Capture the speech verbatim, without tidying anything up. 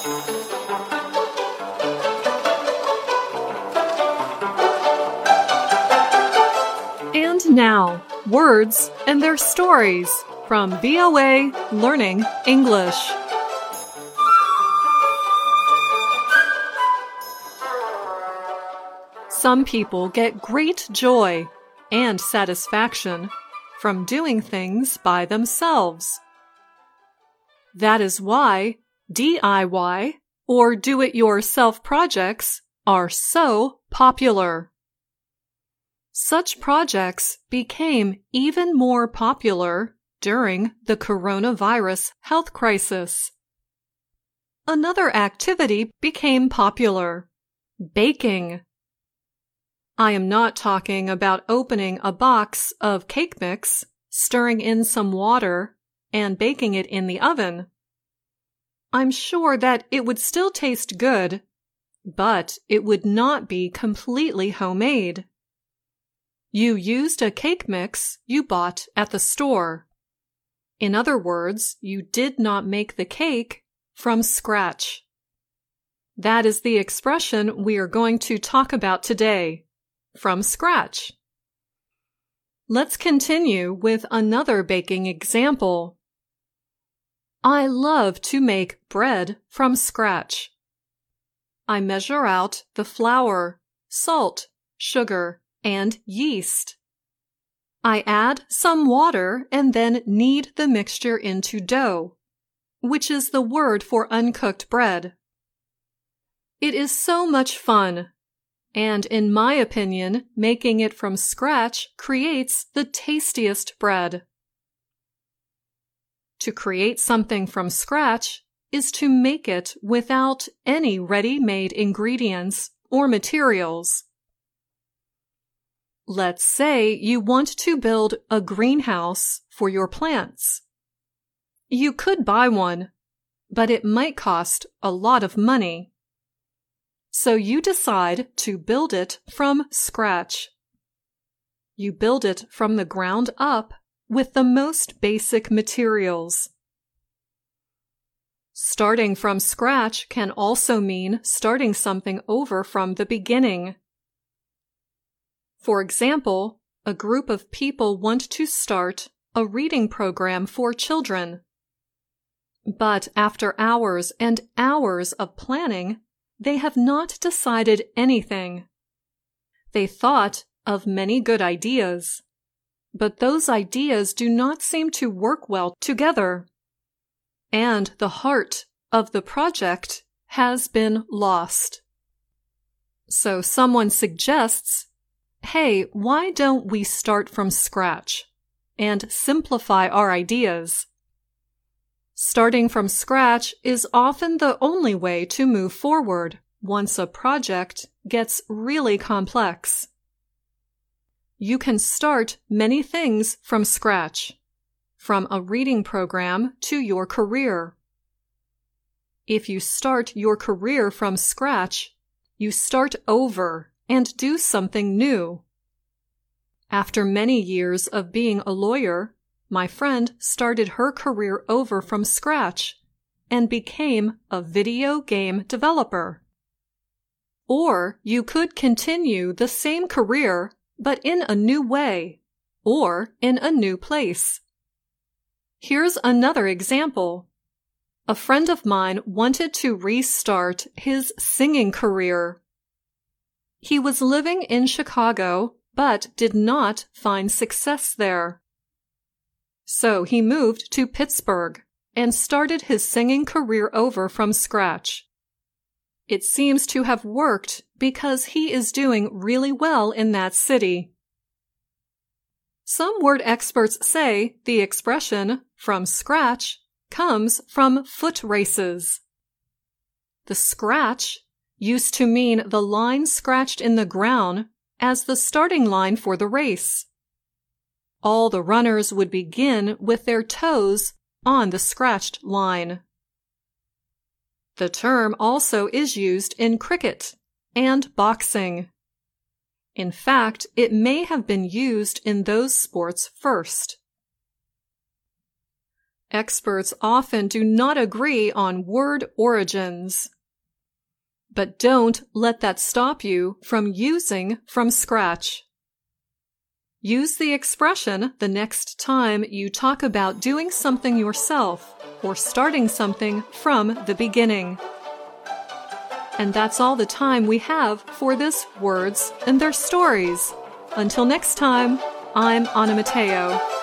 And now, words and their stories from V O A Learning English. Some people get great joy and satisfaction from doing things by themselves. That is why D I Y or do-it-yourself projects are so popular. Such projects became even more popular during the coronavirus health crisis. Another activity became popular: baking. I am not talking about opening a box of cake mix, stirring in some water, and baking it in the oven. I'm sure that it would still taste good, but it would not be completely homemade. You used a cake mix you bought at the store. In other words, you did not make the cake from scratch. That is the expression we are going to talk about today. From scratch. Let's continue with another baking example. I love to make bread from scratch. I measure out the flour, salt, sugar, and yeast. I add some water and then knead the mixture into dough, which is the word for uncooked bread. It is so much fun. And in my opinion, making it from scratch creates the tastiest bread. To create something from scratch is to make it without any ready-made ingredients or materials. Let's say you want to build a greenhouse for your plants. You could buy one, but it might cost a lot of money. So you decide to build it from scratch. You build it from the ground up with the most basic materials. Starting from scratch can also mean starting something over from the beginning. For example, a group of people want to start a reading program for children. But after hours and hours of planning, they have not decided anything. They thought of many good ideas, but those ideas do not seem to work well together. And the heart of the project has been lost. So someone suggests, hey, why don't we start from scratch and simplify our ideas? Starting from scratch is often the only way to move forward once a project gets really complex. You can start many things from scratch, from a reading program to your career. If you start your career from scratch, you start over and do something new. After many years of being a lawyer, my friend started her career over from scratch and became a video game developer. Or you could continue the same career but in a new way, or in a new place. Here's another example. A friend of mine wanted to restart his singing career. He was living in Chicago but did not find success there. So he moved to Pittsburgh and started his singing career over from scratch. It seems to have worked because he is doing really well in that city. Some word experts say the expression from scratch comes from foot races. The scratch used to mean the line scratched in the ground as the starting line for the race. All the runners would begin with their toes on the scratched line. The term also is used in cricket and boxing. In fact, it may have been used in those sports first. Experts often do not agree on word origins. But don't let that stop you from using from scratch. Use the expression the next time you talk about doing something yourself or starting something from the beginning. And that's all the time we have for this Words and Their Stories. Until next time, I'm Anna Matteo.